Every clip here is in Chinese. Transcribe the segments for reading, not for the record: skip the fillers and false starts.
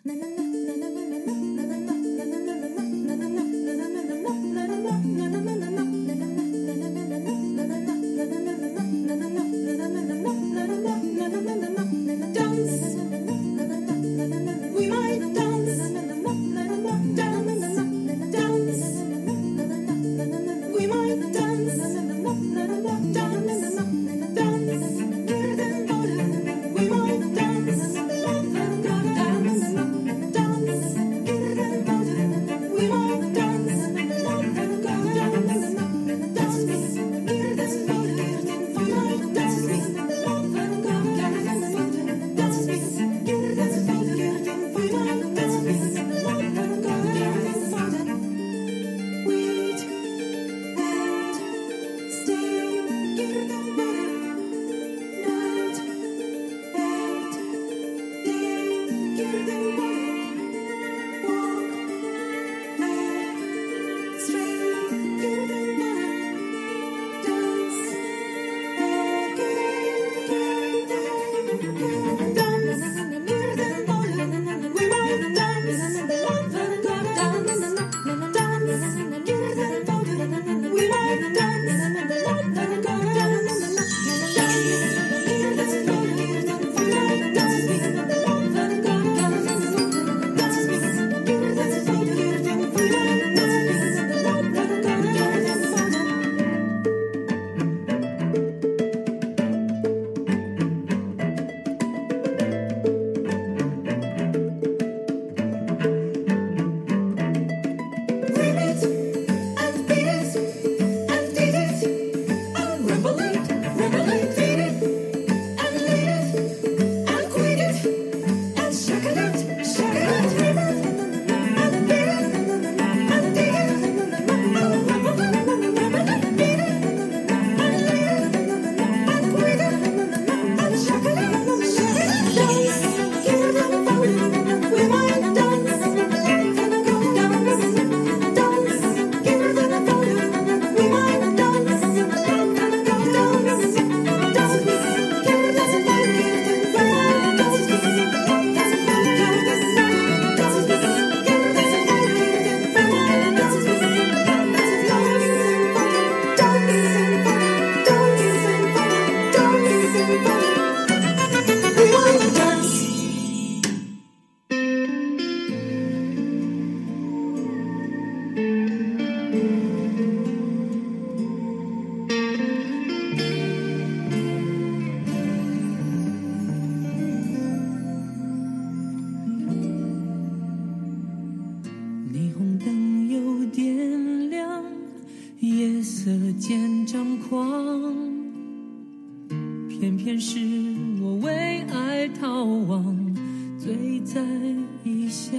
偏偏是我为爱逃亡，醉在异乡。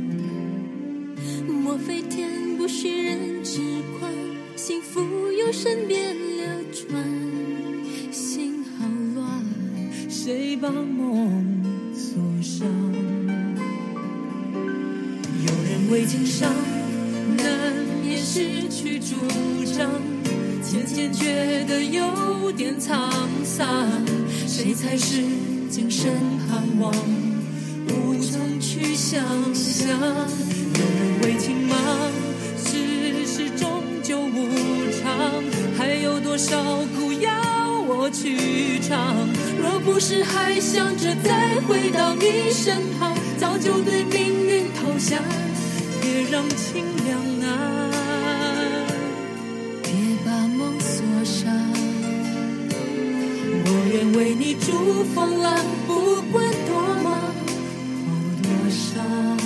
莫非天不许人知宽，幸福由身边流传，心好乱， 谁把梦锁上？有人为情伤，难免失去主张，渐渐觉得有点沧桑，谁才是今生盼望，无从去想象。有人为情忙，世事终究无常，还有多少苦要我去尝？若不是还想着再回到你身旁，早就对命运投降。别让情两难， 别把梦锁上。 我愿为你筑风浪，不管多忙或多伤。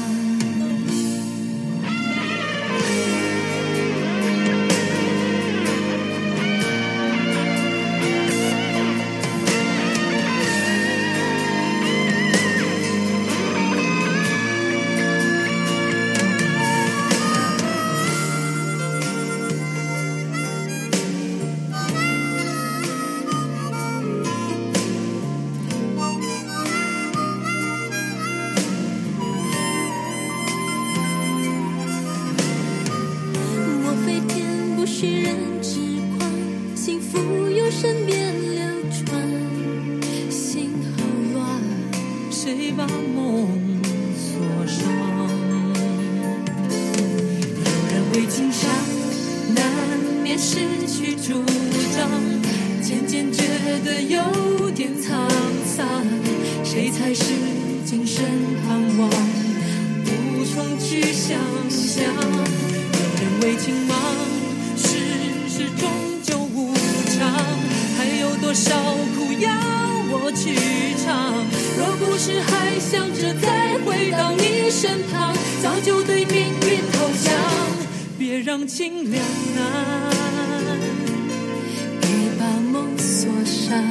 今生盼望，无从去想象。有人为情忙，世事终究无常，还有多少苦要我去尝？若不是还想着再回到你身旁，早就对命运投降。别让情两难，别把梦锁上。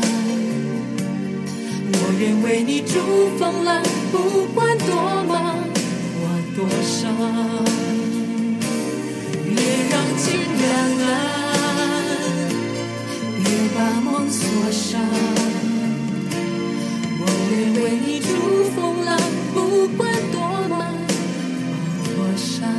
我愿为你筑风浪，不管多忙或多伤。别让情两难，别把梦锁上。我愿为你筑风浪，不管多忙或多伤。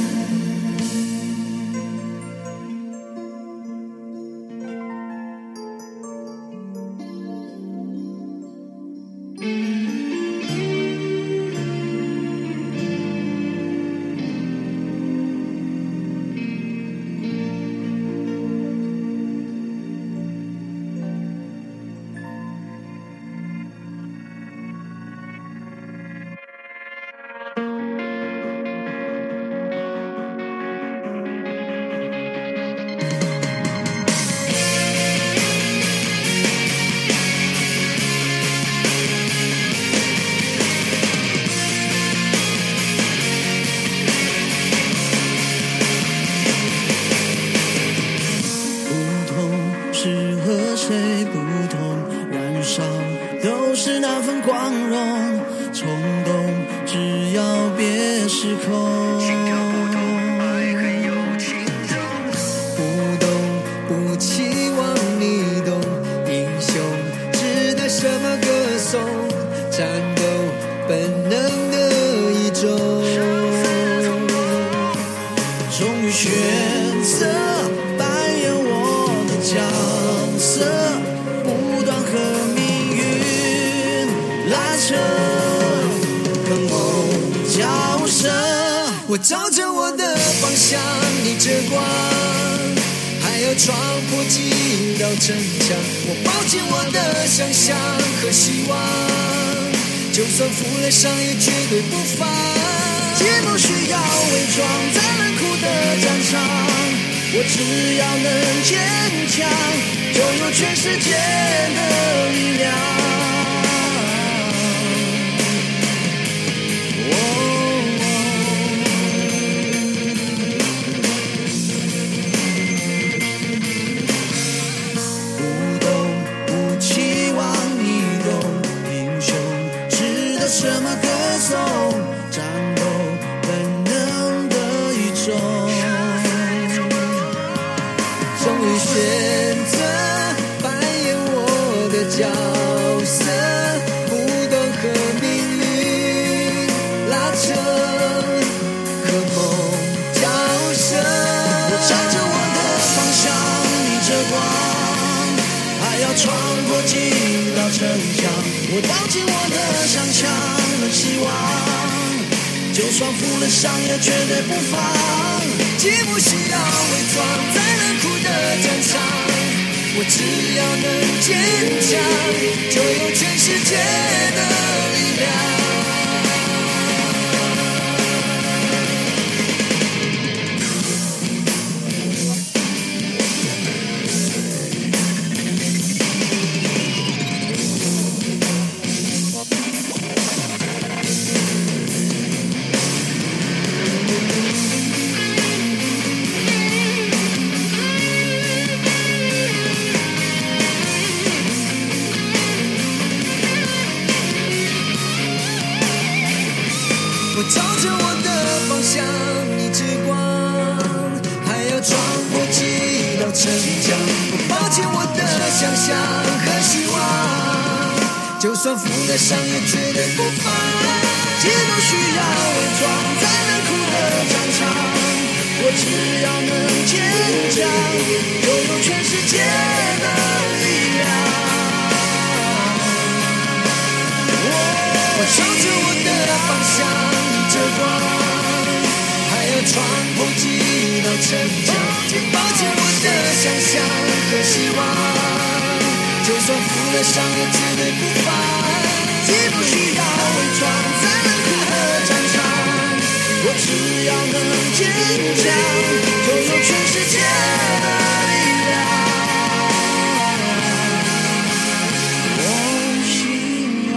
都是那份光荣，冲动只要别失控。不懂，不期望你懂，英雄值得什么歌颂？战斗本能的一种，终于选择扮演我的角色，不断和命运拉扯，跟梦交涉。我照着我的方向，逆着光，还要闯破几道城墙。我抱紧我的想象和希望，就算负了伤也绝对不放。既不需要伪装在冷酷的战场，我只要能坚强，就有全世界的力量。不懂，不期望你懂，英雄值得什么歌颂？战斗本能的一种，终于选择扮演我的角色，不断和命运拉扯，和梦交涉。我朝着我的方向逆着光，还要闯过几道城墙。我抱紧我的想象和希望，就算负了伤也绝对不放。既不需要伪装在冷酷的战场，我只要能坚强，就有全世界的力量。我照着我的方向逆着光，还要闯过几道城墙。我抱紧我的想象和希望，就算负了伤也绝对不放。既不需要伪装在冷酷的战场，我只要能坚强，就有全世界的力量。我朝着我的方向逆着光，还要闯破几道城墙。抱紧我的想象和希望，就算负了伤也绝对不放。既不需要伪装强，拥有全世界的力量。我信仰。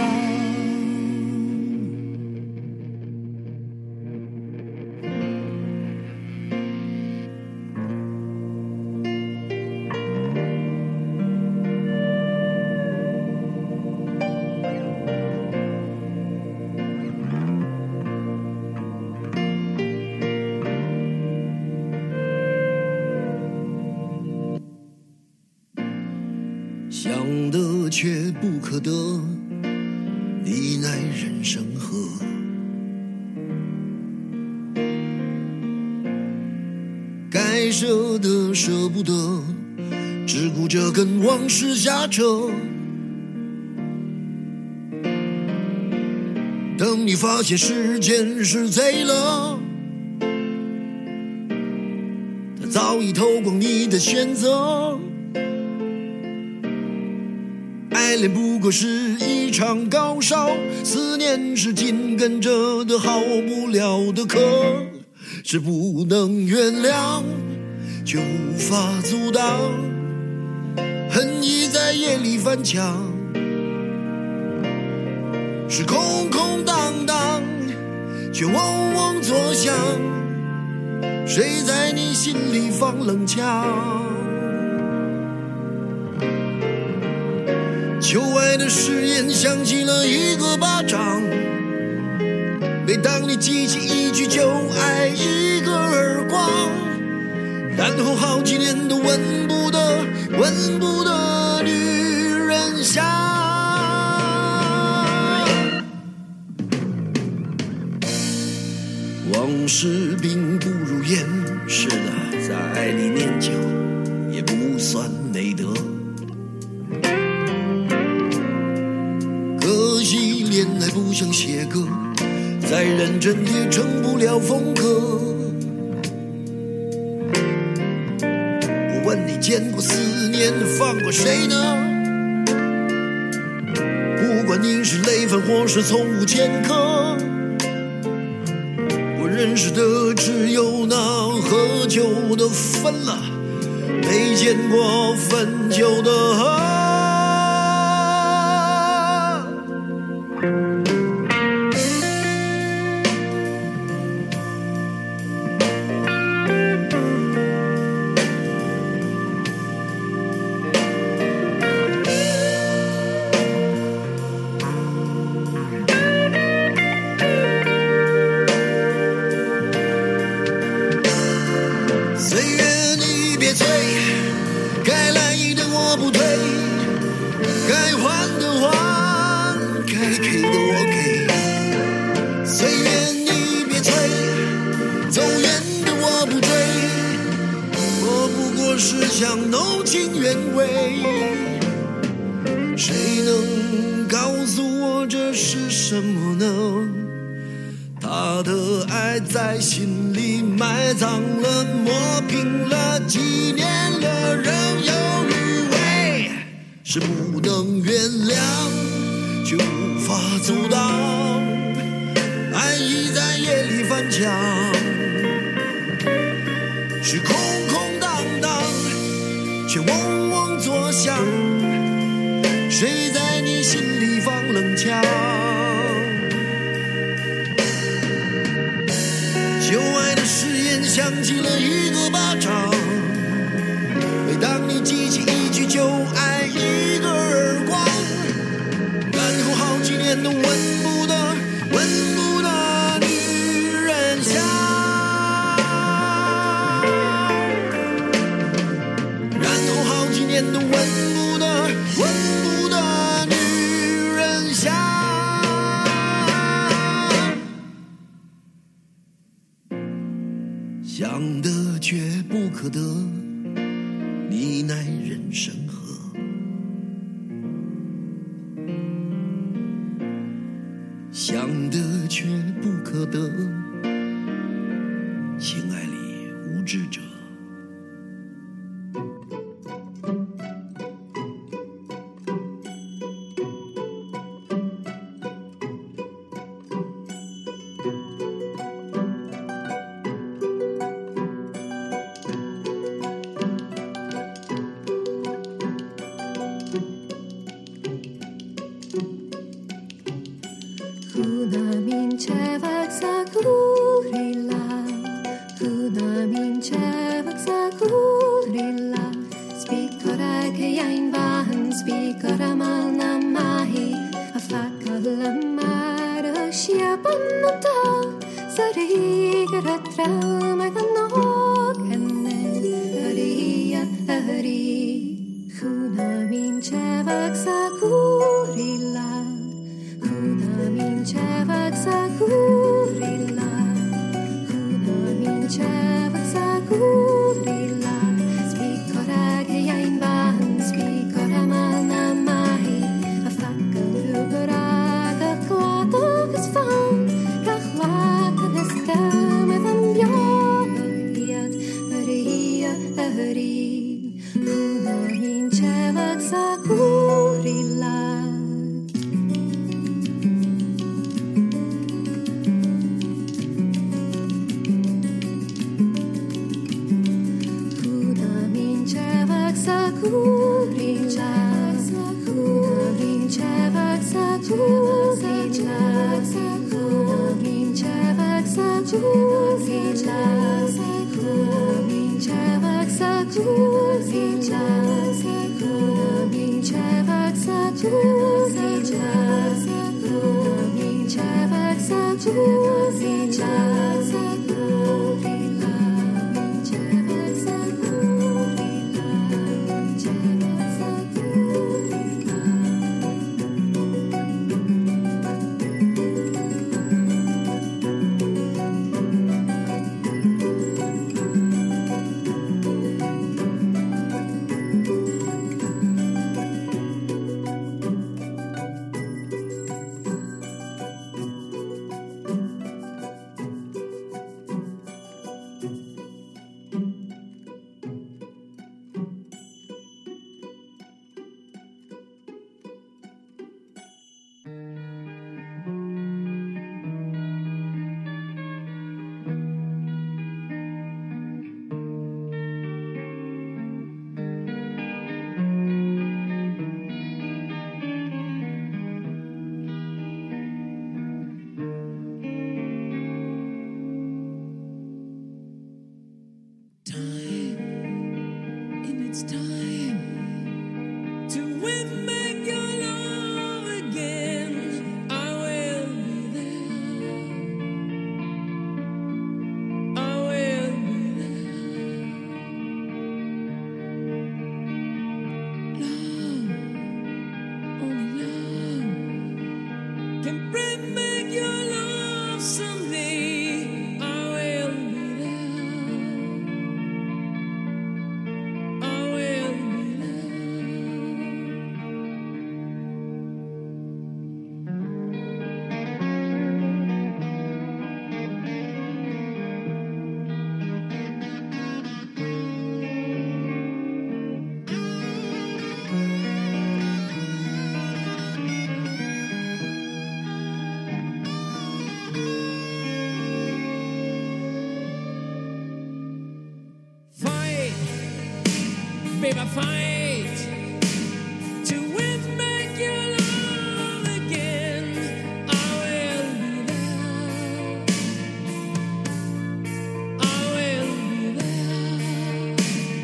想得却不可得，你奈人生何？该舍的舍不得，只顾着跟往事瞎扯。等你发现时间是贼了，它早已偷光你的选择。爱恋不过是一场高烧，思念是紧跟着的好不了的渴，是不能原谅却无法阻挡，恨意在夜里翻墙，是空空荡荡却嗡嗡作响，谁在你心里放冷枪？旧爱的誓言响起了一个巴掌，每当你记起一句就爱一个耳光，然后好几年都闻不得女人香。往事并不如烟，是的，在爱里念旧也不算美德。可惜恋爱不像写歌，再认真也成不了风格。我问你见过思念放过谁呢？不管你是累犯或是从无前科，我认识的只有那喝酒的分了，没见过分酒的喝。岁月你别催，该来的我不退，该还的还，该给的我给。岁月你别催，走远的我不追，我不过是想弄清原委。谁能告诉我这是什么呢？他的爱在心里埋葬了，磨平了，几年了，仍有余味，是不能原谅却无法阻挡，爱意在夜里翻墙，是空空荡荡却嗡嗡作响，谁在你心里放冷枪？旧爱的誓言响起了一个巴掌，每当你记起一句就爱一个耳光，然后好几年都闻不得女人香，然后好几年都闻不得女人香。想得却不可得，你奈人生何？想得却不可得，情爱里无知者。 vinceva Sagurilla, una vinceva Sagurilla. Spicora che io in van, spicora mal na mai, a facca la mare scia pannotta, sarigara trama canno canne, aria ari, una vinceva Sagurilla. Una vinceva Sagurilla, una vinceva Sagurilla. Spicora che io in van, spicora mal na mai, a facca lugorata, clato che sfam, cachlata nestame d'ambioiat, aria, ari. Una vinceva Sagurilla. Sagurilla, una vinceva Sagurilla, una vinceva Sagurilla, una vinceva Sagurilla, una vinceva Sagurilla, una vinceva Sagurilla. babe, I fight to win back your love again. I will be there. I will be there.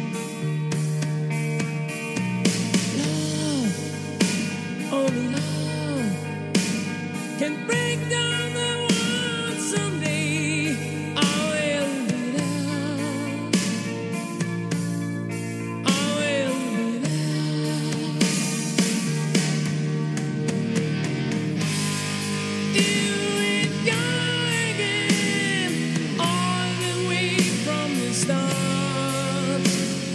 Love, only love can break down the world someday. I will be there. I will be there. You ain't gone again, all the way from the start.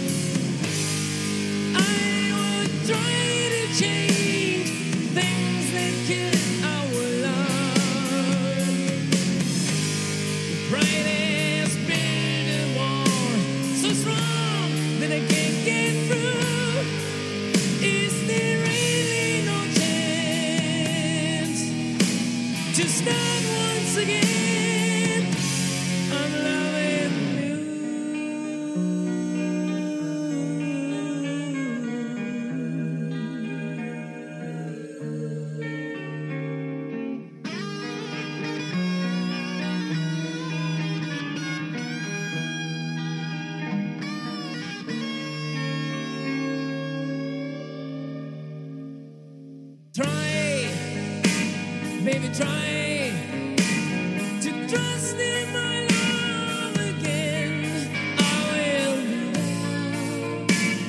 I would try to change things that kill our love. Pride has built a wall so strong that I can't get through. Is there really no chance to start once again? I'm loving you. Try, baby, try to trust in my love again. I will be there.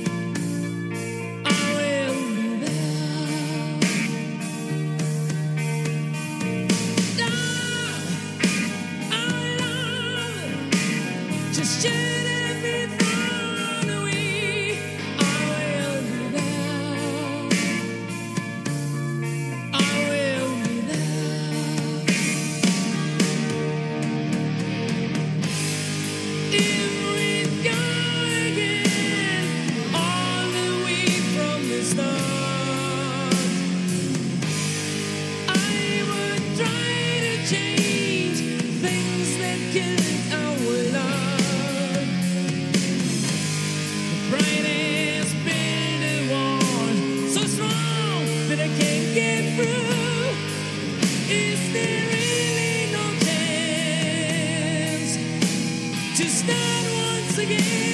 I will be there. Love, our love, just shouldn't be thrown away. I will be there. I will be there. If we go again, all the way from the start, I would try to change things that killed our love. The brightest build a wall so strong that I can't get through. Is there really no chance to start once again?